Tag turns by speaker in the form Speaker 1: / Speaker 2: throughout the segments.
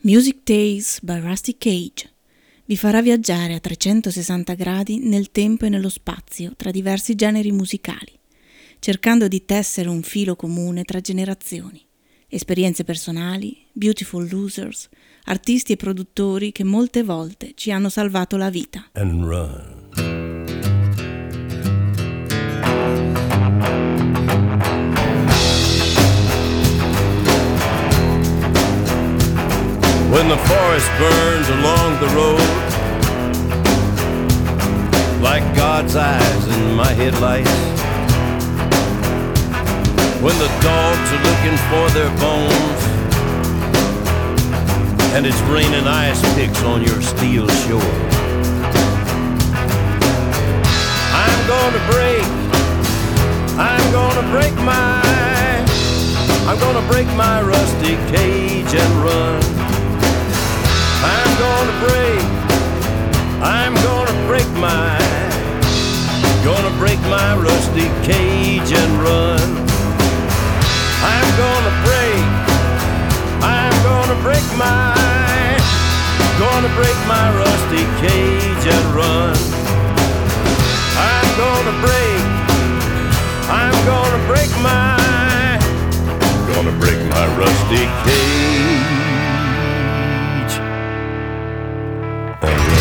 Speaker 1: Music Tales by Rusty Cage vi farà viaggiare a 360 gradi nel tempo e nello spazio tra diversi generi musicali, cercando di tessere un filo comune tra generazioni, esperienze personali, beautiful losers, artisti e produttori che molte volte ci hanno salvato la vita.
Speaker 2: And run. When the forest burns along the road, like God's eyes in my headlights, when the dogs are looking for their bones, and it's raining ice picks on your steel shore, I'm gonna break my rusty cage and run. I'm gonna break my rusty cage and run. I'm gonna break my rusty cage and run. I'm gonna break my rusty cage and run.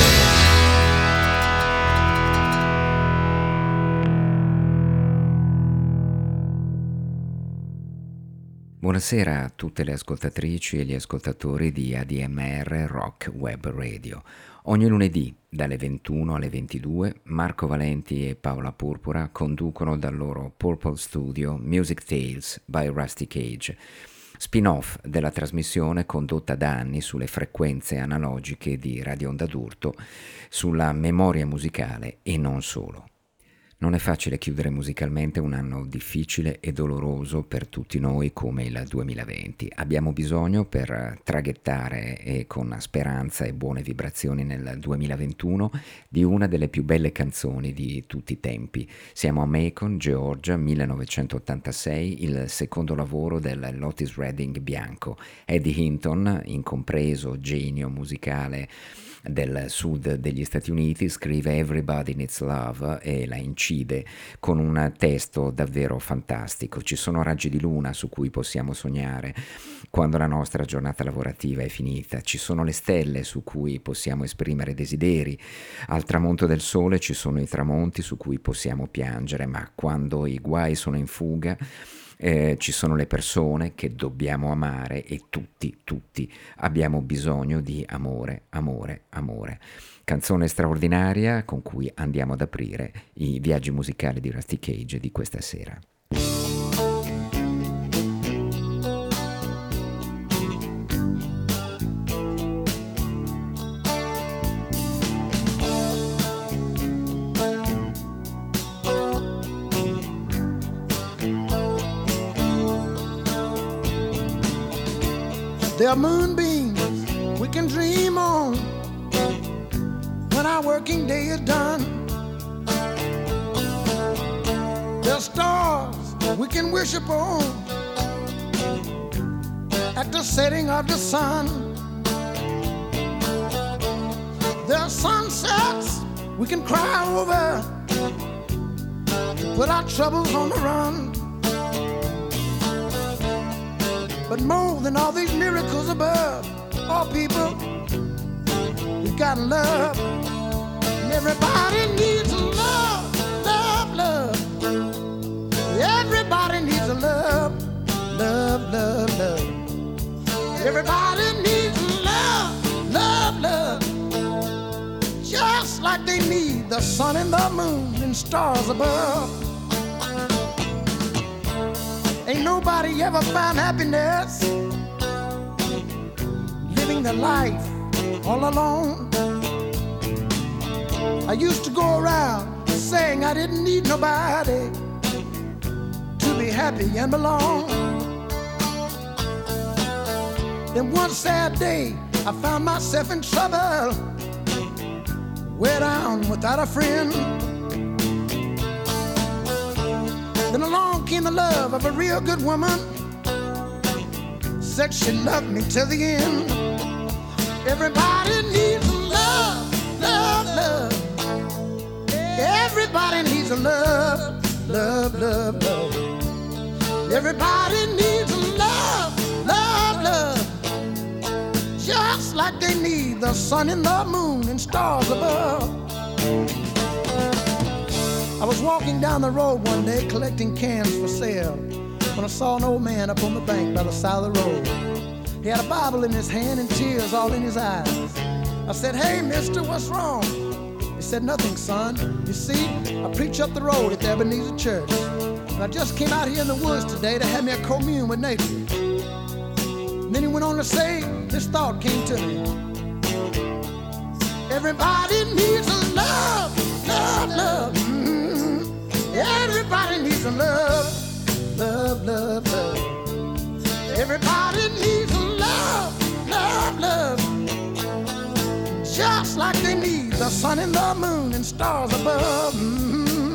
Speaker 3: Buonasera a tutte le ascoltatrici e gli ascoltatori di ADMR Rock Web Radio. Ogni lunedì dalle 21 alle 22 Marco Valenti e Paola Purpura conducono dal loro Purple Studio Music Tales by Rusty Cage, spin-off della trasmissione condotta da anni sulle frequenze analogiche di Radio Onda d'Urto sulla memoria musicale e non solo. Non è facile chiudere musicalmente un anno difficile e doloroso per tutti noi come il 2020. Abbiamo bisogno per traghettare e con speranza e buone vibrazioni nel 2021 di una delle più belle canzoni di tutti i tempi. Siamo a Macon, Georgia, 1986, il secondo lavoro del Otis Redding bianco. Eddie Hinton, incompreso genio musicale del sud degli Stati Uniti, scrive Everybody Needs Love e la incide con un testo davvero fantastico. Ci sono raggi di luna su cui possiamo sognare quando la nostra giornata lavorativa è finita, ci sono le stelle su cui possiamo esprimere desideri, al tramonto del sole ci sono i tramonti su cui possiamo piangere, ma quando i guai sono in fuga ci sono le persone che dobbiamo amare e tutti abbiamo bisogno di amore. Canzone straordinaria con cui andiamo ad aprire i viaggi musicali di Rusty Cage di questa sera.
Speaker 4: There are moonbeams we can dream on when our working day is done. There are stars we can wish upon at the setting of the sun. There are sunsets we can cry over, put our troubles on the run. But more than all these miracles above, all people, we got love. And everybody needs love. Everybody needs a love. Everybody needs love. Just like they need the sun and the moon and stars above. Ain't nobody ever found happiness living their life all alone. I used to go around saying I didn't need nobody to be happy and belong. Then one sad day I found myself in trouble, way down without a friend. Then along came the love of a real good woman, said she loved me till the end. Everybody needs love, love, love. Everybody needs love, love, love, love. Everybody needs love, love, love. Just like they need the sun and the moon and stars above. I was walking down the road one day collecting cans for sale when I saw an old man up on the bank by the side of the road. He had a Bible in his hand and tears all in his eyes. I said, "Hey, mister, what's wrong?" He said, "Nothing, son. You see, I preach up the road at the Ebenezer Church. And I just came out here in the woods today to have me a commune with nature." And then he went on to say, this thought came to me. Everybody needs a love, love, love. Mm-hmm. Everybody needs a love, love, love, love. Everybody needs a love, love, love. Just like they need the sun and the moon and stars above. Mm-hmm.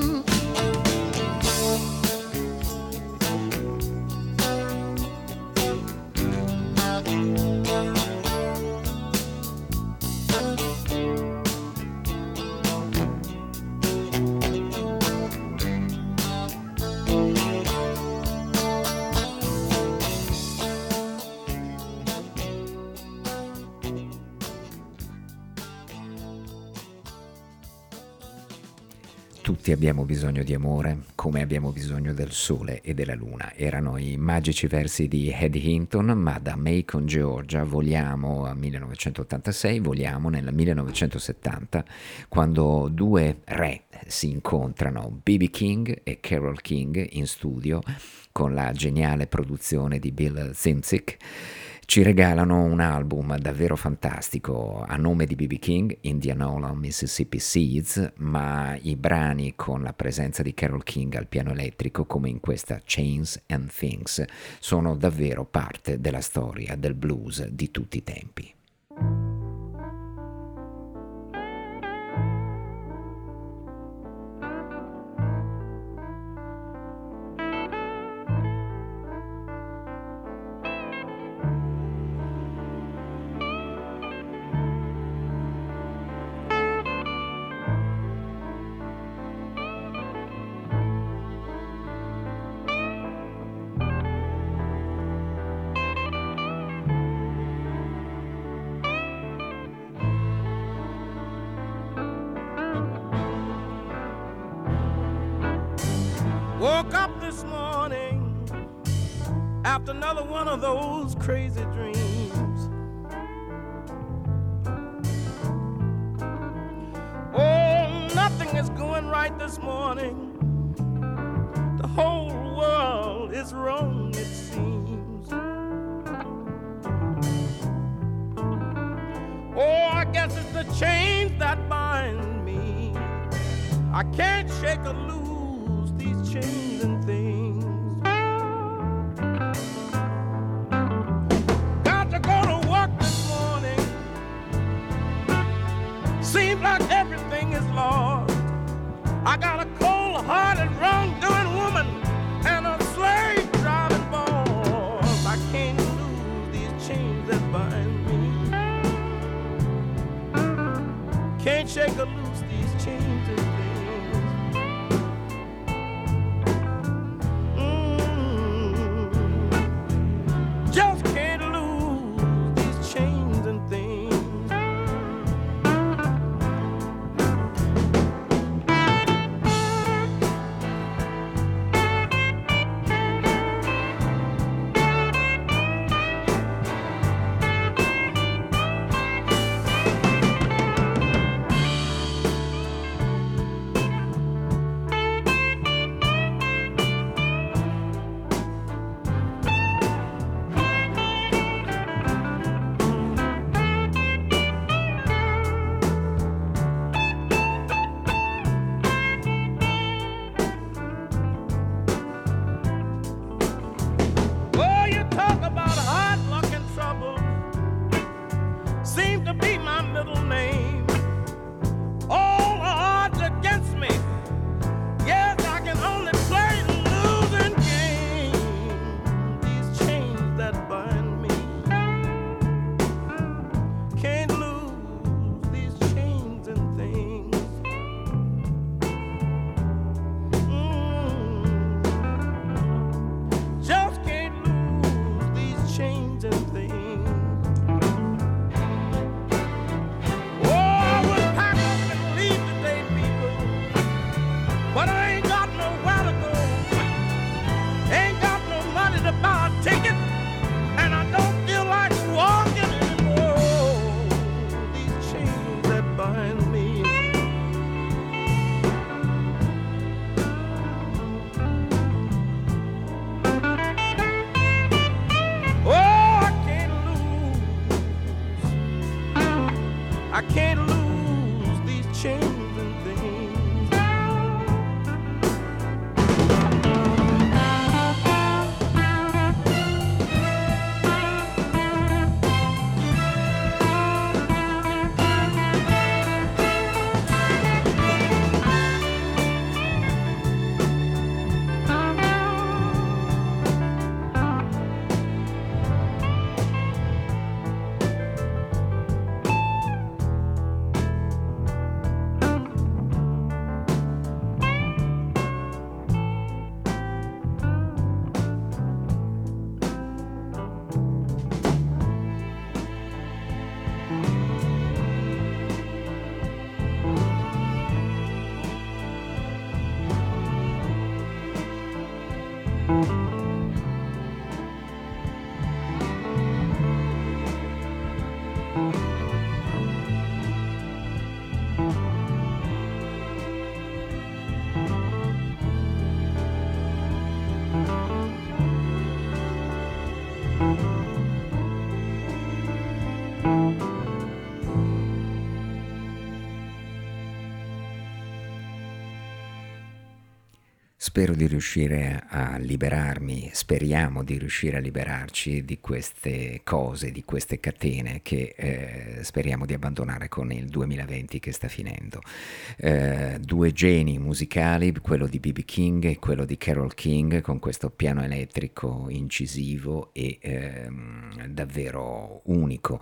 Speaker 3: Tutti abbiamo bisogno di amore, come abbiamo bisogno del sole e della luna. Erano i magici versi di Eddie Hinton, ma da Macon, Georgia, voliamo al 1986, voliamo nel 1970, quando due re si incontrano, B.B. King e Carole King, in studio, con la geniale produzione di Bill Zimzik. Ci regalano un album davvero fantastico a nome di B.B. King, Indianola Mississippi Seeds, ma i brani con la presenza di Carole King al piano elettrico, come in questa Chains and Things, sono davvero parte della storia del blues di tutti i tempi.
Speaker 2: Woke up this morning after another one of those crazy dreams. Oh, nothing is going right this morning. The whole world is wrong, it seems. Oh, I guess it's the chains that bind me. I can't shake or lose these chains and things. Got to go to work this morning. Seems like everything is lost. I got a cold-hearted, wrong-doing woman and a slave-driving boss. I can't lose these chains that bind me. Can't shake or lose these chains and things. Just can't lose these chains and things. Oh, you talk about hard luck and trouble. Seem to be my middle name. All the odds against me. Yes, I can only play the losing game. These chains that bind me. Can't I can't lose these chains and things.
Speaker 3: Spero di riuscire a liberarmi, speriamo di riuscire a liberarci di queste cose, di queste catene che speriamo di abbandonare con il 2020 che sta finendo. Due geni musicali, quello di B.B. King e quello di Carole King, con questo piano elettrico incisivo e davvero unico,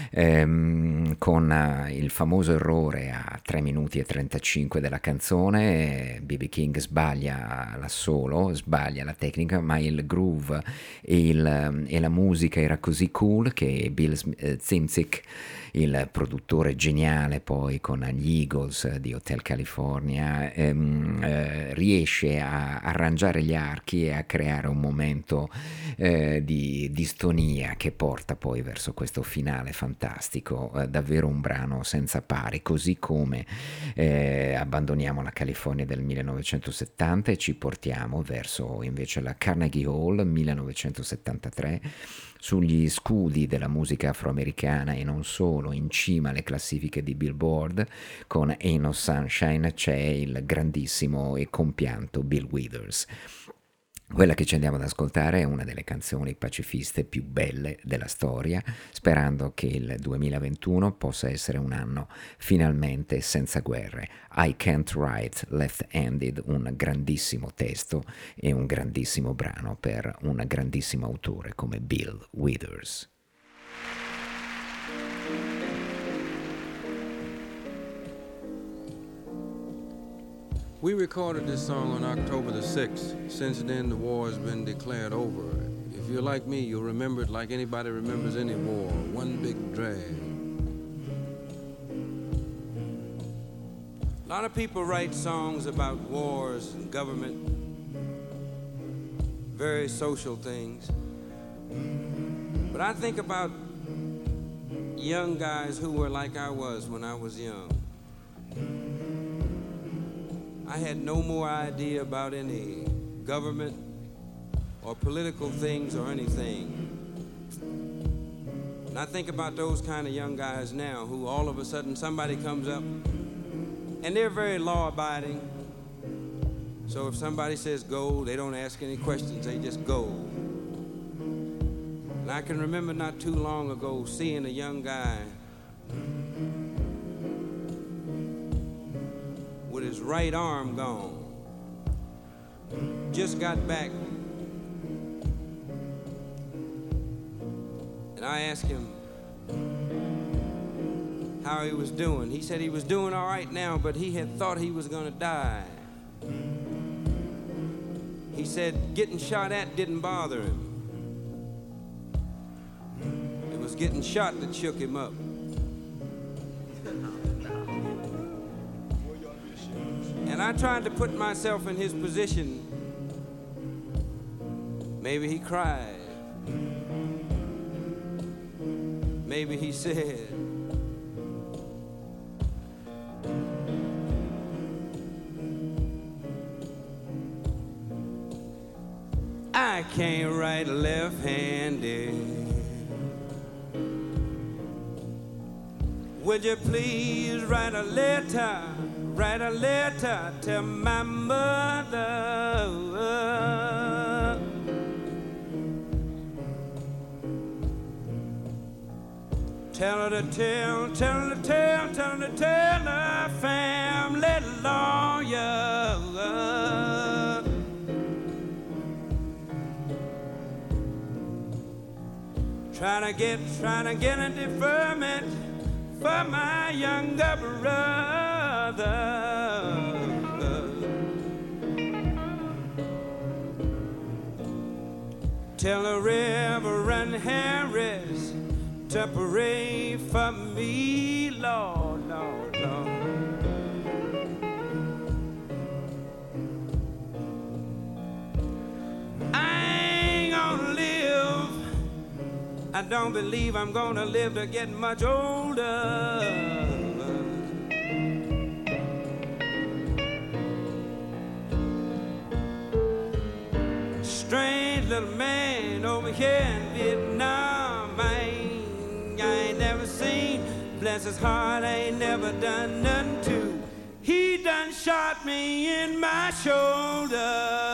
Speaker 3: con il famoso errore a 3 minuti e 35 della canzone. B.B. King sbaglia l'assolo, sbaglia la tecnica, ma il groove e la musica era così cool che Bill Zimzik, il produttore geniale poi con gli Eagles di Hotel California, riesce a arrangiare gli archi e a creare un momento di distonia che porta poi verso questo finale fantastico, davvero un brano senza pari, così come abbandoniamo la California del 1970 e ci portiamo verso invece la Carnegie Hall 1973, sugli scudi della musica afroamericana e non solo, in cima alle classifiche di Billboard, con Ain't No Sunshine c'è il grandissimo e compianto Bill Withers. Quella che ci andiamo ad ascoltare è una delle canzoni pacifiste più belle della storia, sperando che il 2021 possa essere un anno finalmente senza guerre. I Can't Write Left-Handed, un grandissimo testo e un grandissimo brano per un grandissimo autore come Bill Withers.
Speaker 5: We recorded this song on October the 6th. Since then, the war has been declared over. If you're like me, you'll remember it like anybody remembers any war. One big drag. A lot of people write songs about wars and government, very social things. But I think about young guys who were like I was when I was young. I had no more idea about any government or political things or anything. And I think about those kind of young guys now who all of a sudden somebody comes up and they're very law-abiding. So if somebody says go, they don't ask any questions, they just go. And I can remember not too long ago seeing a young guy with his right arm gone. Just got back. And I asked him how he was doing. He said he was doing all right now, but he had thought he was gonna die. He said getting shot at didn't bother him. It was getting shot that shook him up. And I tried to put myself in his position. Maybe he cried. Maybe he said, I can't write left-handed. would you please write a letter to my mother? Tell her to tell her family lawyer. Trying to get a deferment for my younger brother. Tell the Reverend Harris to pray for me, Lord, Lord, Lord. I don't believe I'm gonna live to get much older. Strange little man over here in Vietnam, I ain't never seen. Bless his heart, I ain't never done nothing to. He done shot me in my shoulder.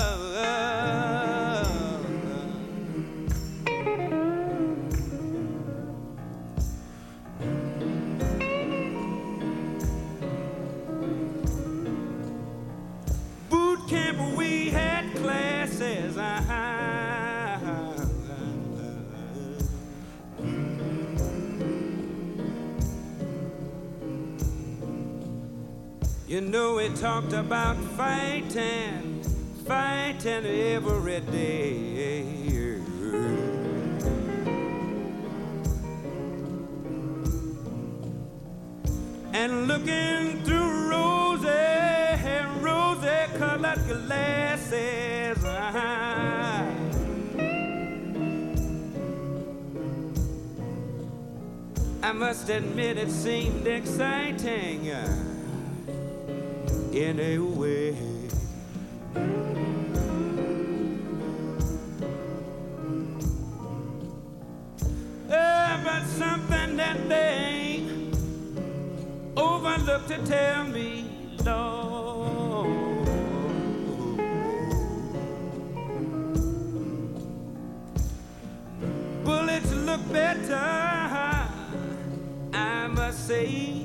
Speaker 5: We had classes. You know, we talked about fighting every day. And looking through rosy-colored glasses, I must admit it seemed exciting in a way. But something that they overlooked to tell me, Lord. Bullets look better, I must say.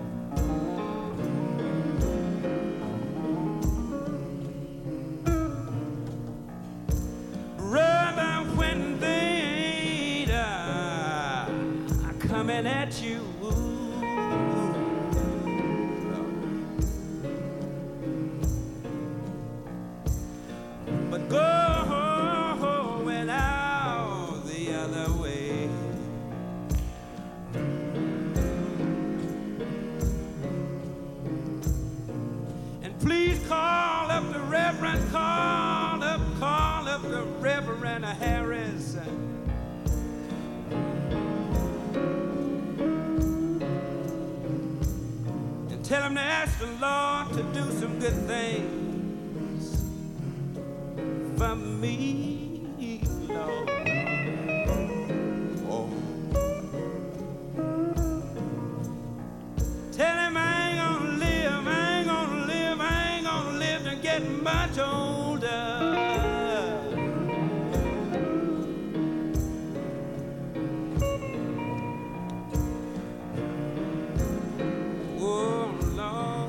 Speaker 5: Rather when they are coming at you. But going out the other way. And please call up the Reverend, call up the Reverend Harris. And tell him to ask the Lord to do some good things for me, Lord. Oh. Tell him I ain't gonna live to get much older. Oh, Lord.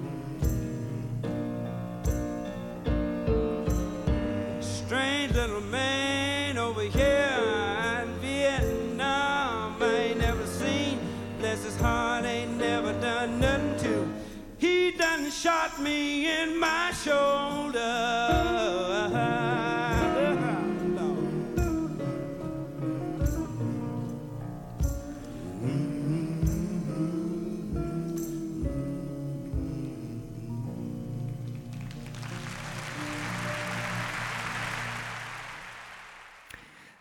Speaker 5: Strange little man over here in Vietnam, I ain't never seen. Bless his heart, ain't never done nothing to. He done shot me in my shoulder.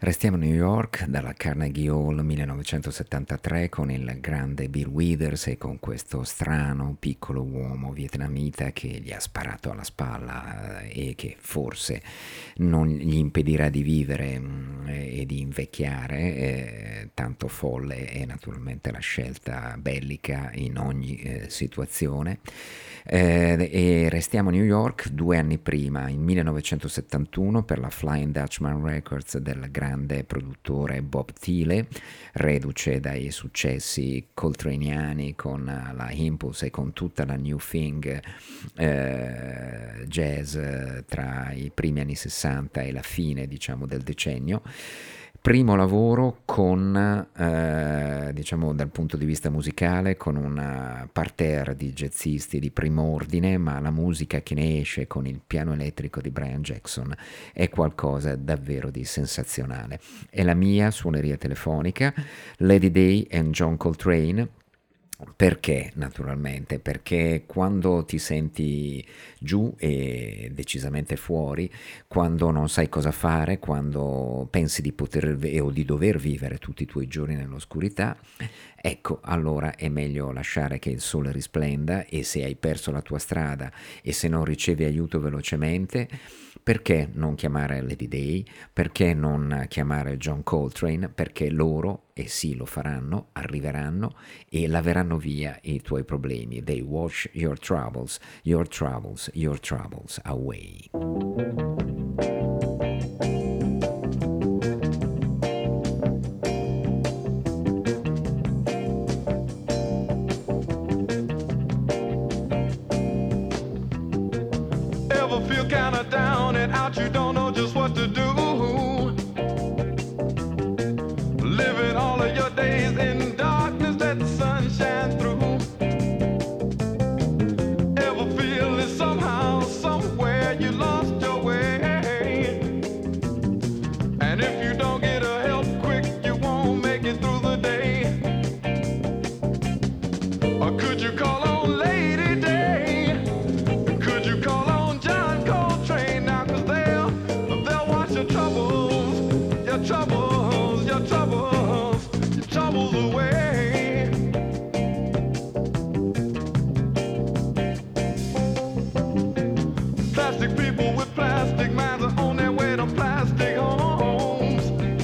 Speaker 3: Restiamo a New York, dalla Carnegie Hall 1973, con il grande Bill Withers e con questo strano piccolo uomo vietnamita che gli ha sparato alla spalla e che forse non gli impedirà di vivere e di invecchiare. Tanto folle è naturalmente la scelta bellica in ogni situazione. E restiamo a New York 2 anni prima, in 1971, per la Flying Dutchman Records del grande produttore Bob Thiele, reduce dai successi coltraneani con la Impulse e con tutta la New Thing jazz tra i primi anni 60 e la fine, diciamo, del decennio. Primo lavoro con, diciamo dal punto di vista musicale, con un parterre di jazzisti di primo ordine, ma la musica che ne esce con il piano elettrico di Brian Jackson è qualcosa davvero di sensazionale. È la mia suoneria telefonica, Lady Day and John Coltrane. Perché? Naturalmente, perché quando ti senti giù e decisamente fuori, quando non sai cosa fare, quando pensi di poter o di dover vivere tutti i tuoi giorni nell'oscurità, ecco, allora è meglio lasciare che il sole risplenda, e se hai perso la tua strada e se non ricevi aiuto velocemente, perché non chiamare Lady Day? Perché non chiamare John Coltrane? Perché loro, e sì lo faranno, arriveranno e laveranno via i tuoi problemi. They wash your troubles, your troubles, your troubles away.
Speaker 2: Ever feel kinda down and out, you don't know just what to do? Living all of your days in darkness, let the sun shine through. Ever feel that somehow, somewhere you lost your way? And if you don't get a help quick, you won't make it through the day. Or could you call on Lady Day? Could you call on John Coltrane now? 'Cause they'll wash your troubles, your troubles, your troubles, your troubles away. Plastic people with plastic minds are on their way to plastic homes.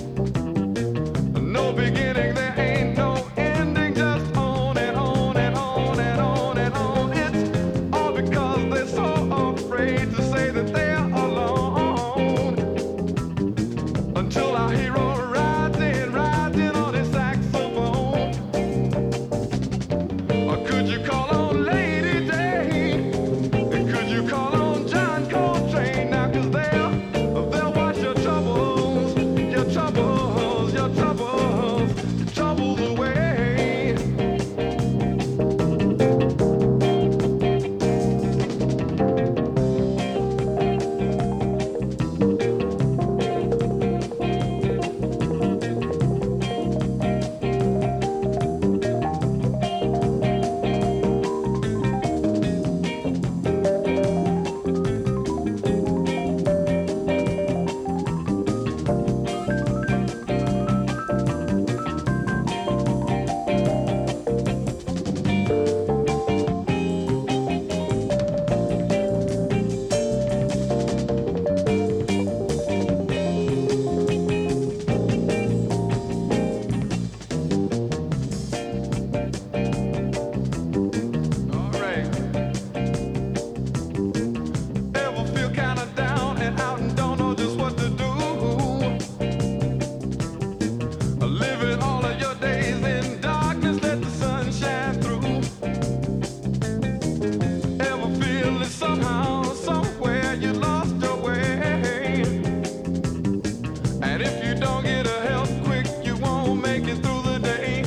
Speaker 2: No beginning, there ain't no ending, just on and on and on and on and on. It's all because they're so afraid to say that they're alone. Until our hero rides in on his saxophone. Or could you call on Lady Day? And could you call on John Coltrane now? 'Cause they'll wash your troubles, your troubles, your troubles, your troubles away. All right. Ever feel kinda down and out and don't know just what to do? Living all of your days in darkness, let the sun shine through. Ever feel that somehow, somewhere you lost your way? And if you don't get a help quick, you won't make it through the day.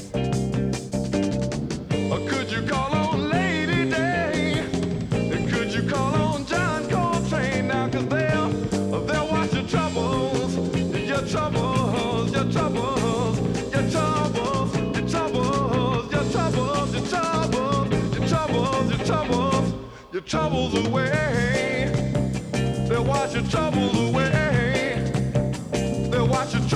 Speaker 2: Or could you call on Lady Day? And could you call on John Coltrane now? 'Cause they'll wash your troubles, your troubles, your troubles, your troubles, your troubles, your troubles, your troubles, your troubles, your troubles, your troubles away. They'll wash your troubles away. They'll wash your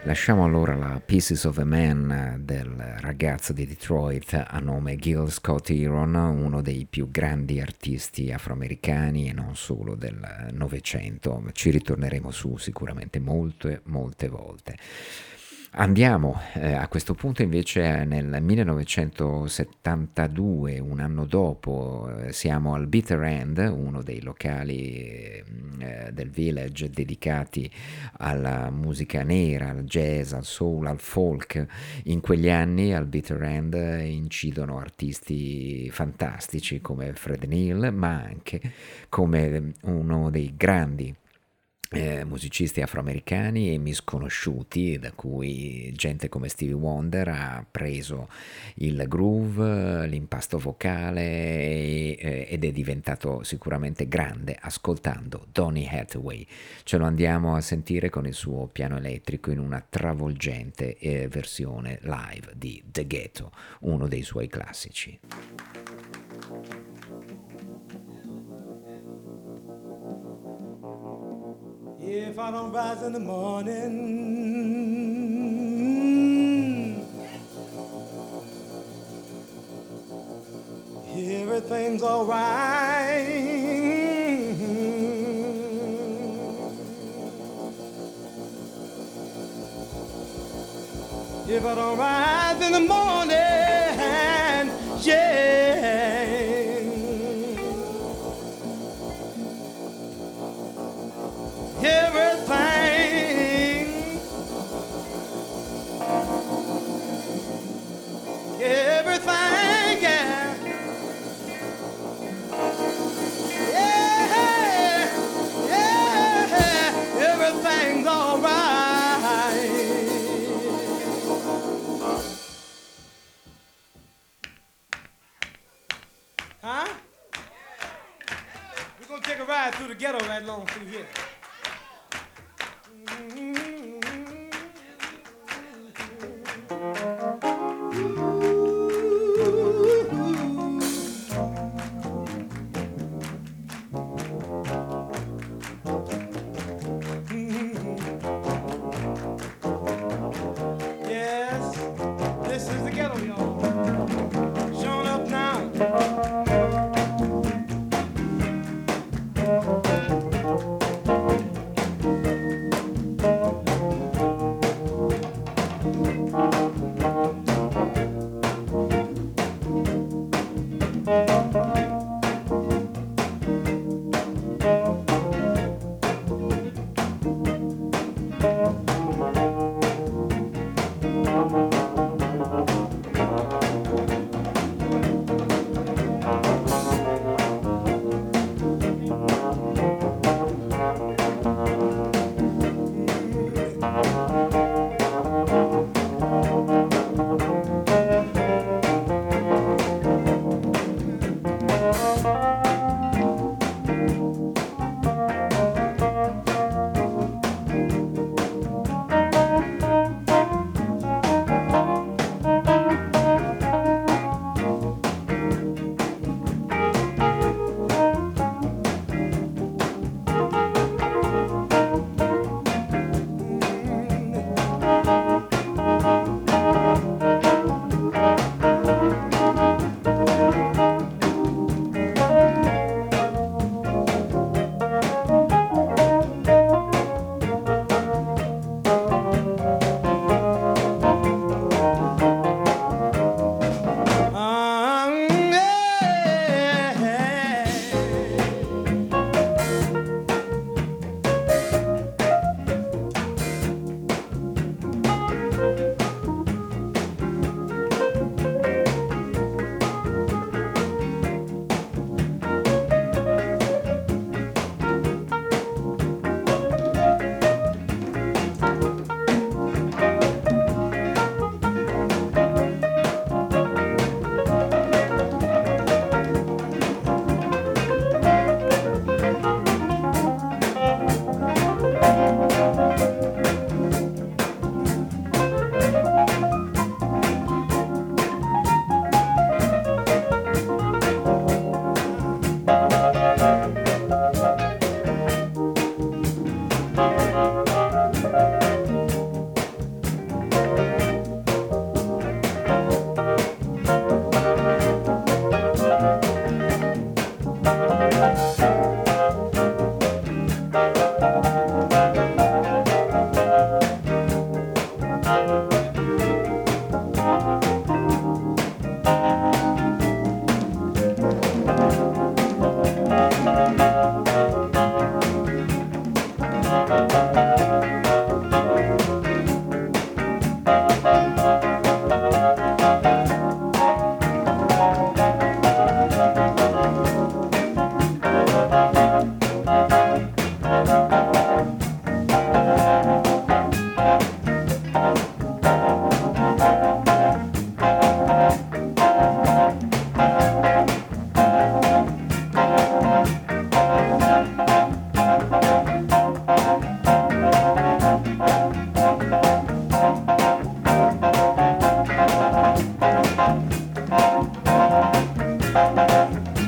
Speaker 3: Lasciamo allora la Pieces of a Man del ragazzo di Detroit a nome Gil Scott-Heron, uno dei più grandi artisti afroamericani e non solo del Novecento. Ci ritorneremo su sicuramente molte volte. Andiamo a questo punto invece nel 1972, un anno dopo, siamo al Bitter End, uno dei locali del Village dedicati alla musica nera, al jazz, al soul, al folk. In quegli anni al Bitter End incidono artisti fantastici come Fred Neil, ma anche come uno dei grandi musicisti afroamericani e misconosciuti, da cui gente come Stevie Wonder ha preso il groove, l'impasto vocale ed è diventato sicuramente grande ascoltando Donny Hathaway. Ce lo andiamo a sentire con il suo piano elettrico in una travolgente versione live di The Ghetto, uno dei suoi classici.
Speaker 6: If I don't rise in the morning, everything's all right. If I don't rise in the morning, yeah, everything, yeah. Yeah, everything's all right. Huh? We're gonna take a ride through the ghetto right along through here.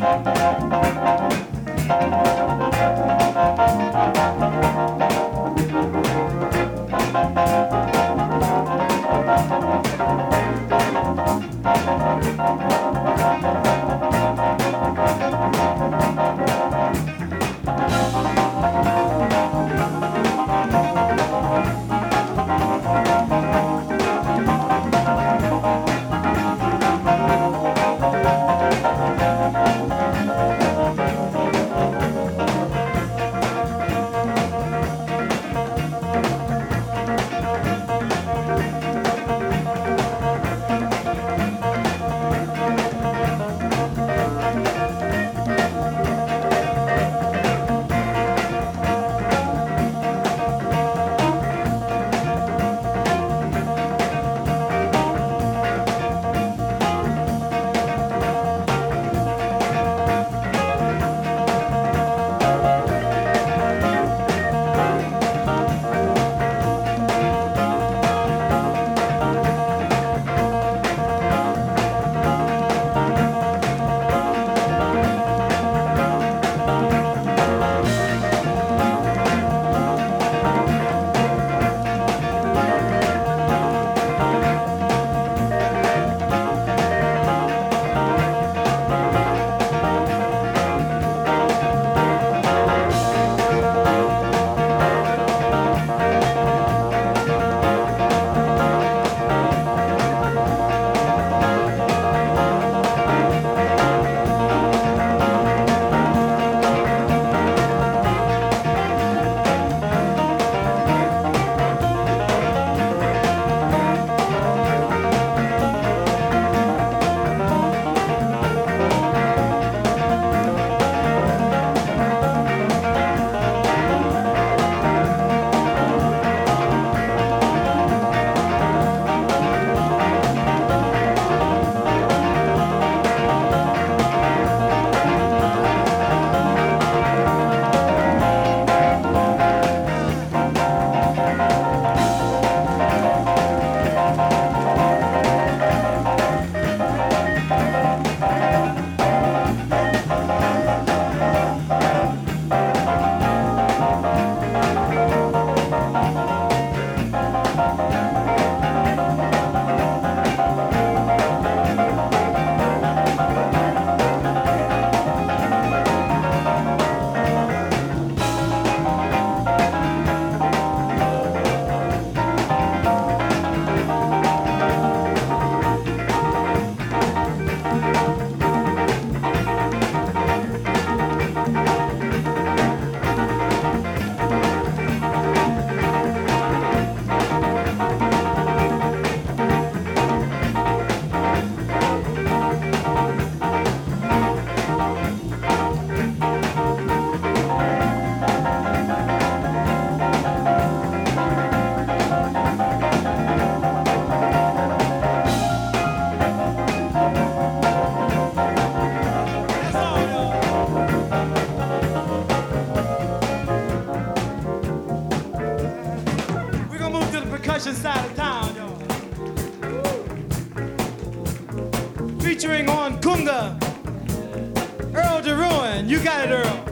Speaker 6: percussion side of town, y'all. Featuring on Kunga, Earl DeRuin. You got it, Earl.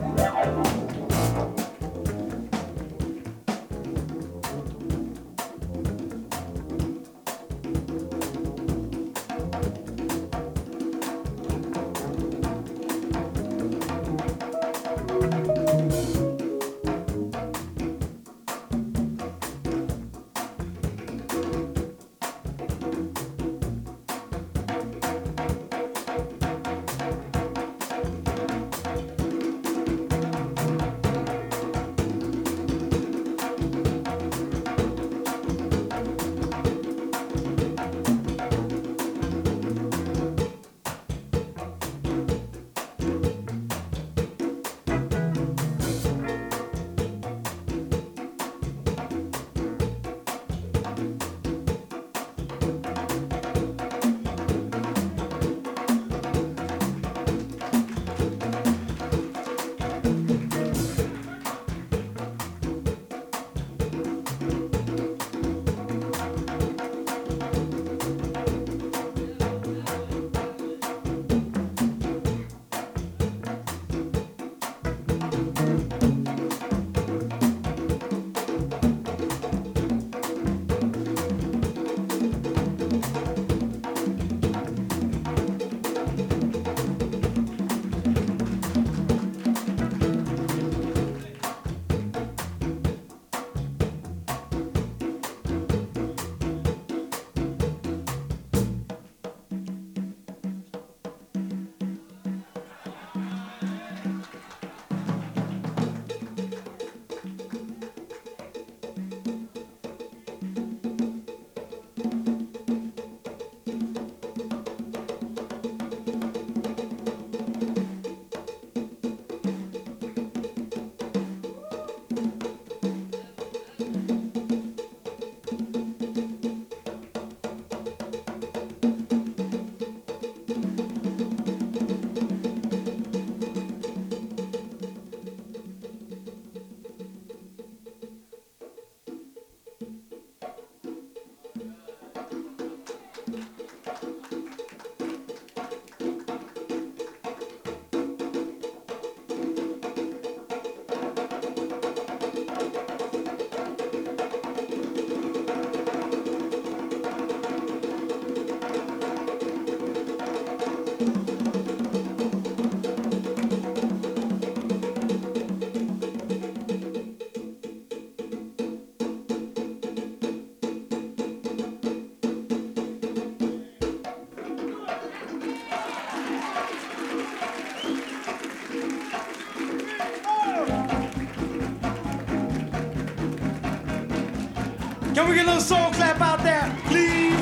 Speaker 6: Can we get a little soul clap out there, please?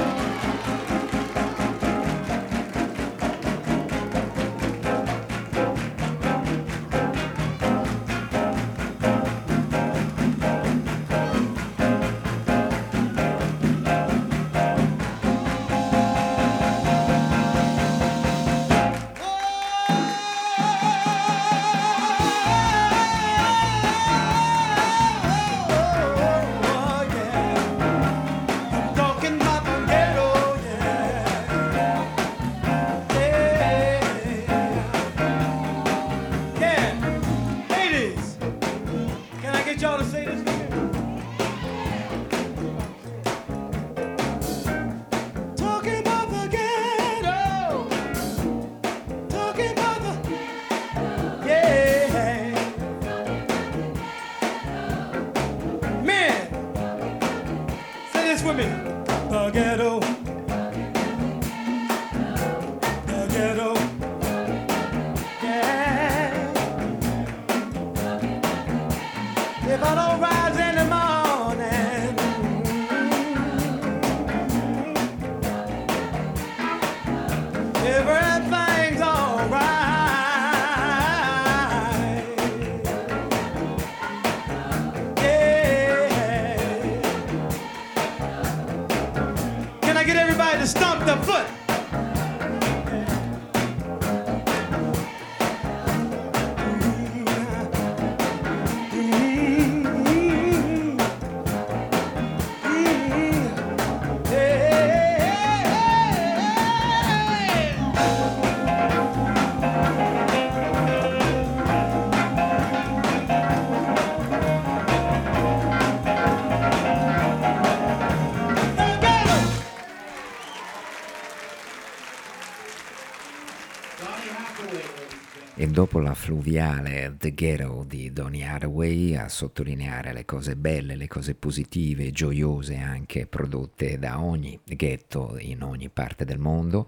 Speaker 3: E dopo la fluviale The Ghetto di Donny Hathaway, a sottolineare le cose belle, le cose positive, gioiose anche prodotte da ogni ghetto in ogni parte del mondo,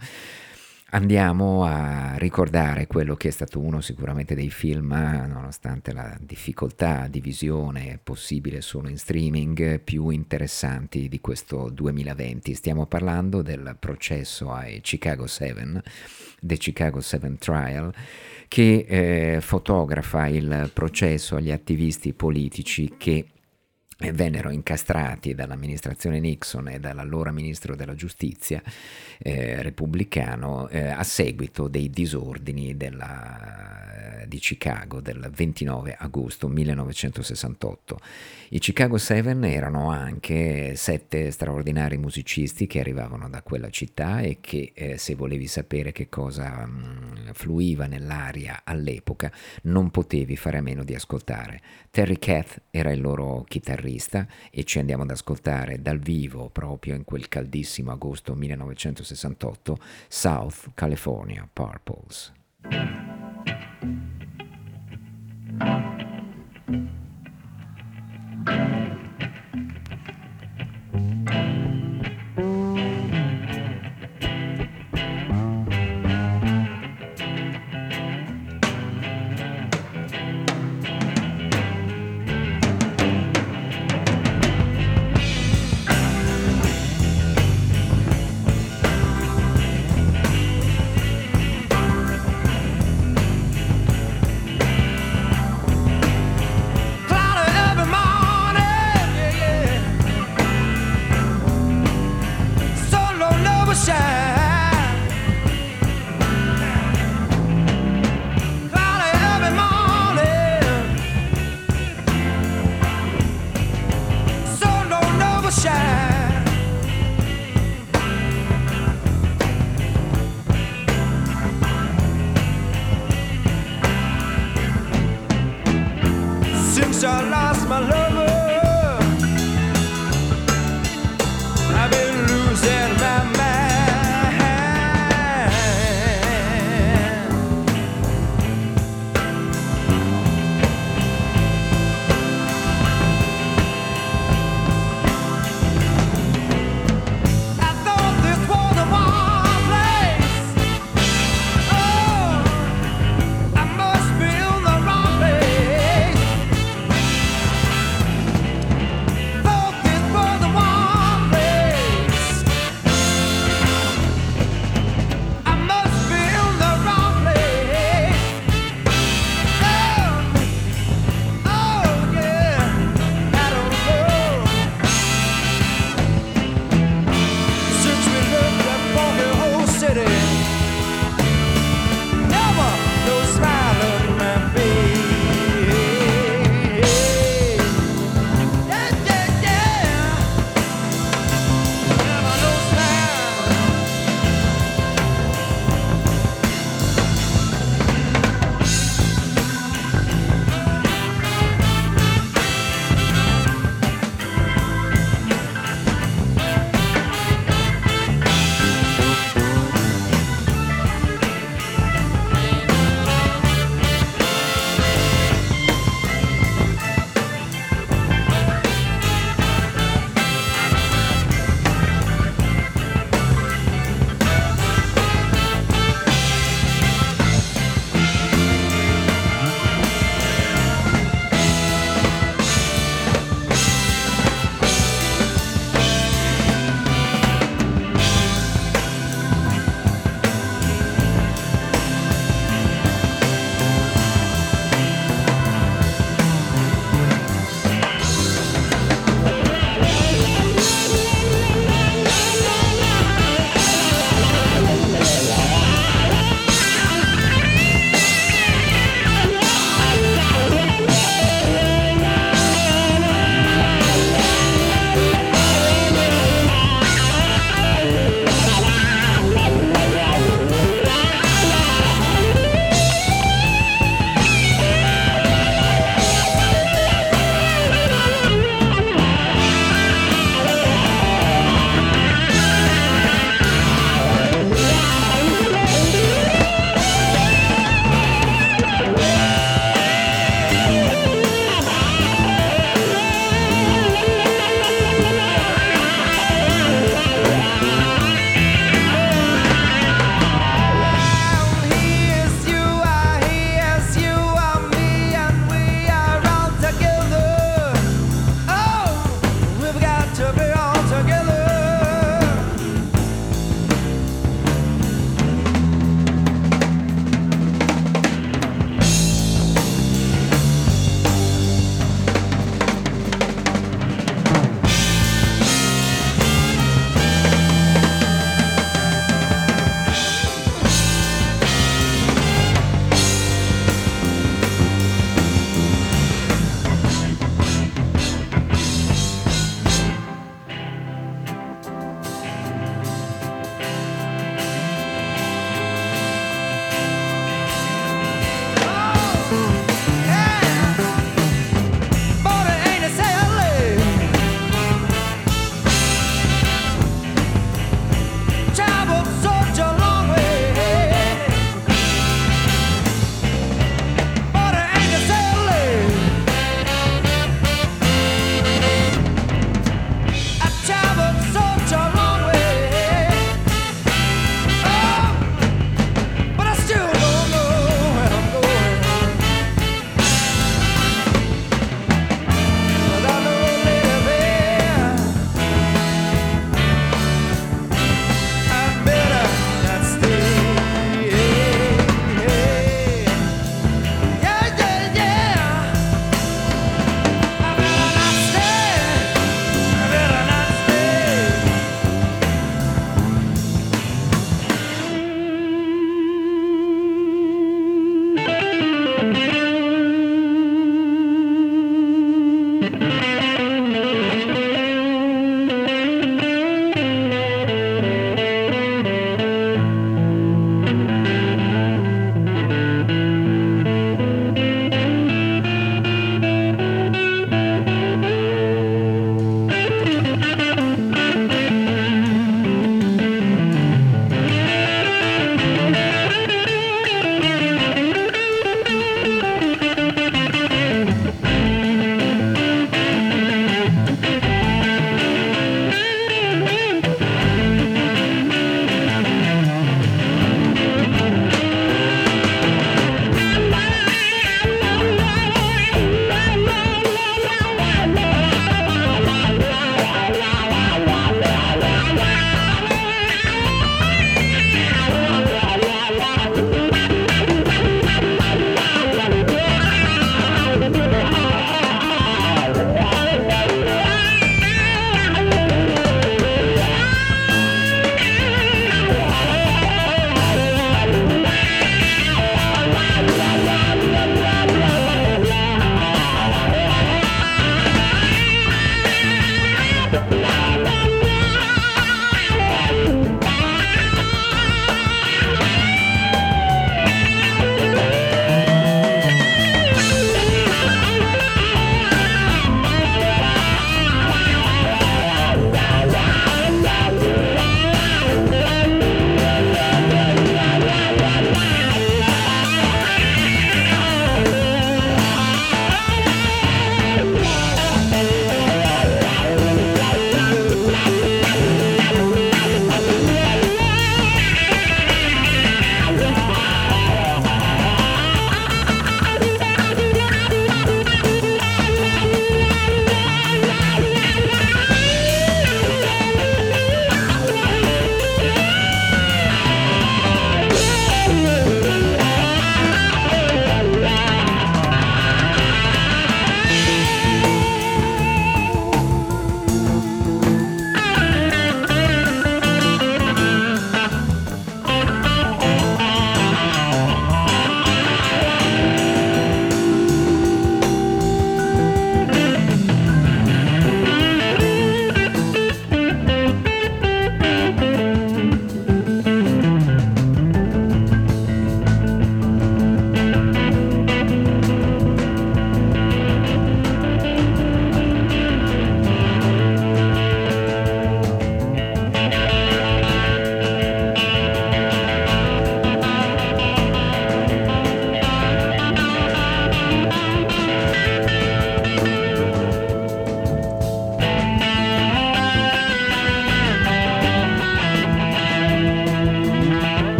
Speaker 3: andiamo a ricordare quello che è stato uno sicuramente dei film, nonostante la difficoltà di visione possibile solo in streaming, più interessanti di questo 2020. Stiamo parlando del processo ai Chicago 7, The Chicago 7 Trial, che fotografa il processo agli attivisti politici che vennero incastrati dall'amministrazione Nixon e dall'allora ministro della giustizia repubblicano a seguito dei disordini di Chicago del 29 agosto 1968. I Chicago 7 erano anche 7 straordinari musicisti che arrivavano da quella città e che se volevi sapere che cosa fluiva nell'aria all'epoca non potevi fare a meno di ascoltare. Terry Kath era il loro chitarrista e ci andiamo ad ascoltare dal vivo proprio in quel caldissimo agosto 1968 South California Purples.
Speaker 2: Since I lost my lover, I've been losing my mind. I thought this was a warm place. Oh, I must be in the wrong place.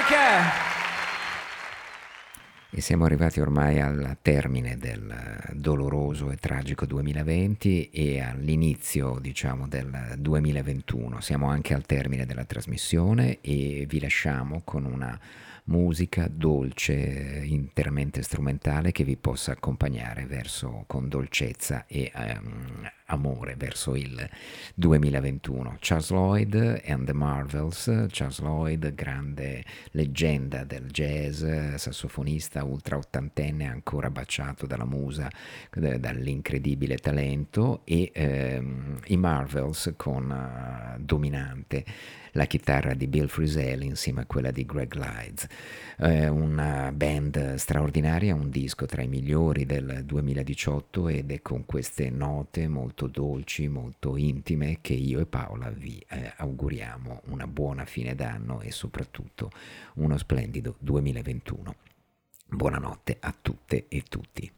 Speaker 3: E siamo arrivati ormai al termine del doloroso e tragico 2020 e all'inizio, diciamo, del 2021. Siamo anche al termine della trasmissione e vi lasciamo con una musica dolce, interamente strumentale, che vi possa accompagnare con dolcezza e amore verso il 2021. Charles Lloyd and the Marvels. Charles Lloyd, grande leggenda del jazz, sassofonista ultra ottantenne, ancora baciato dalla musa, dall'incredibile talento, e i Marvels con dominante la chitarra di Bill Frisell insieme a quella di Greg Lydes. Una band straordinaria, un disco tra i migliori del 2018, ed è con queste note molto dolci, molto intime, che io e Paola vi auguriamo una buona fine d'anno e soprattutto uno splendido 2021. Buonanotte a tutte e tutti.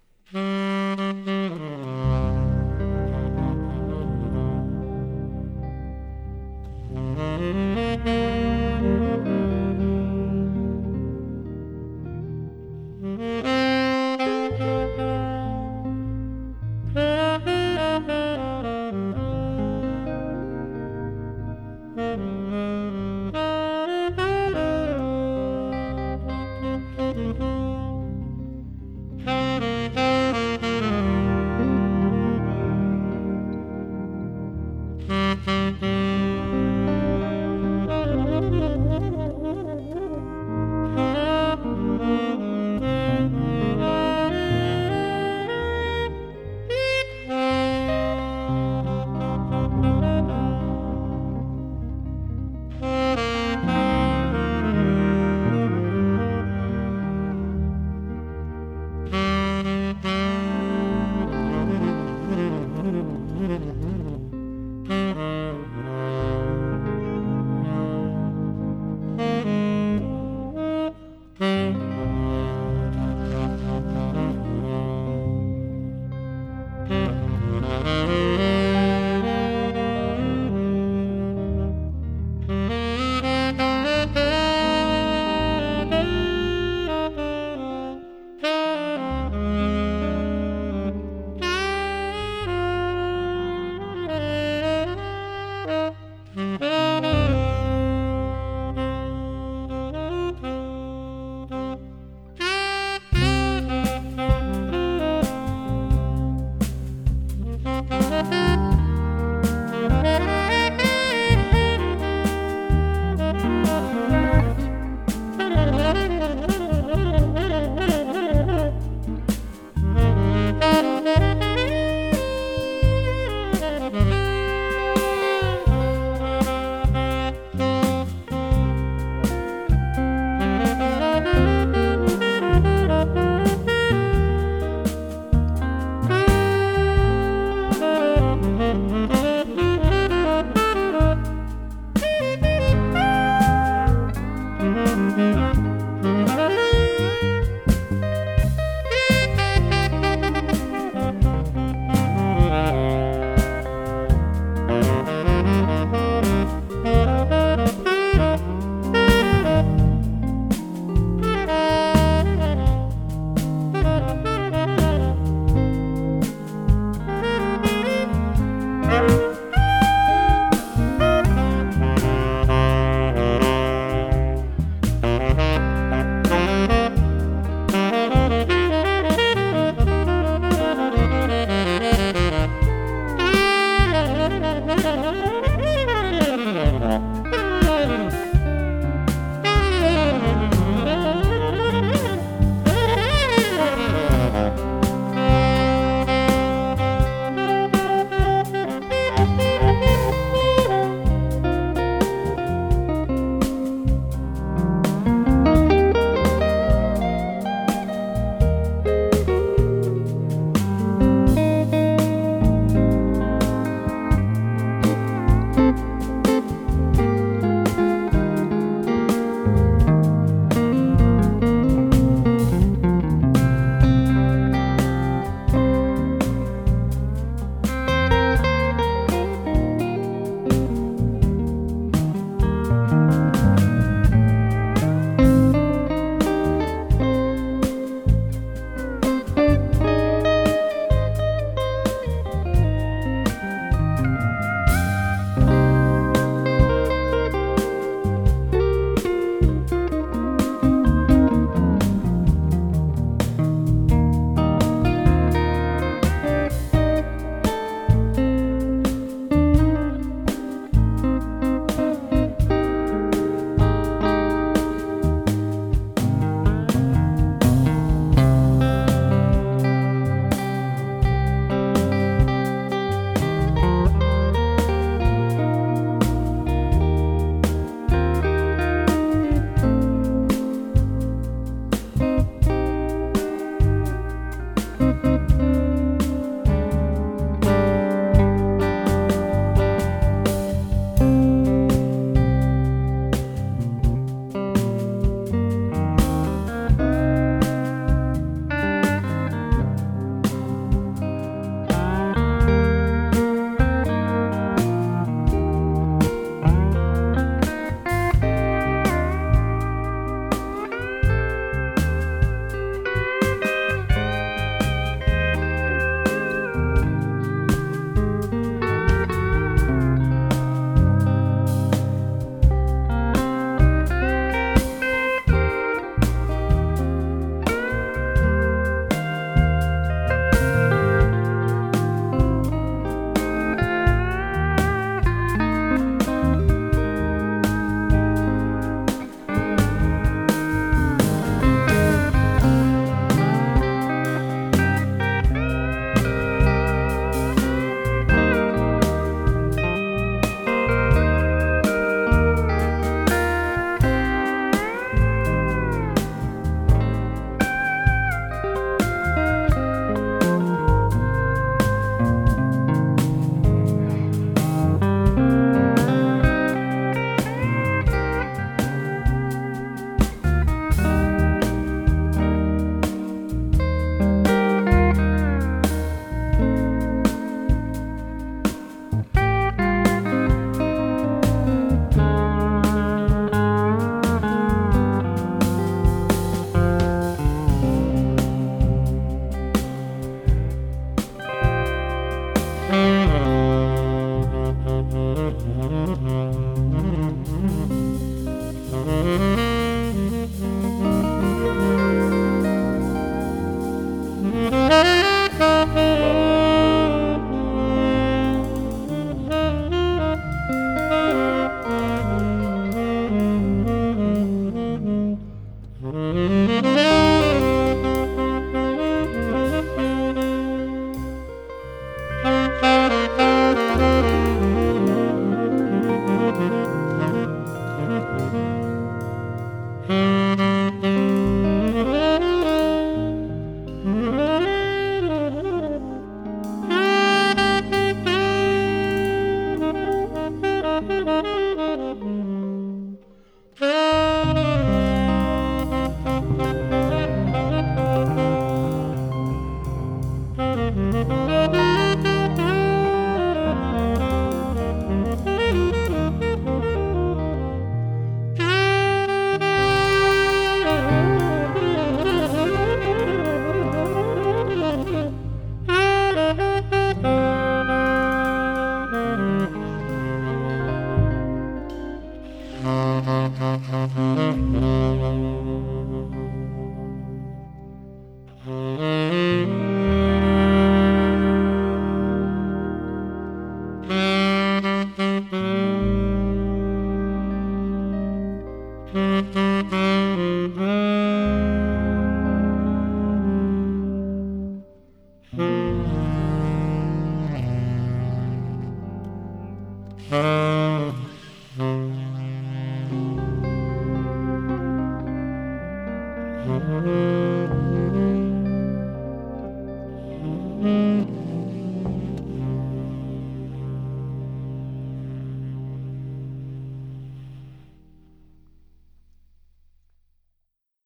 Speaker 7: Mm-hmm.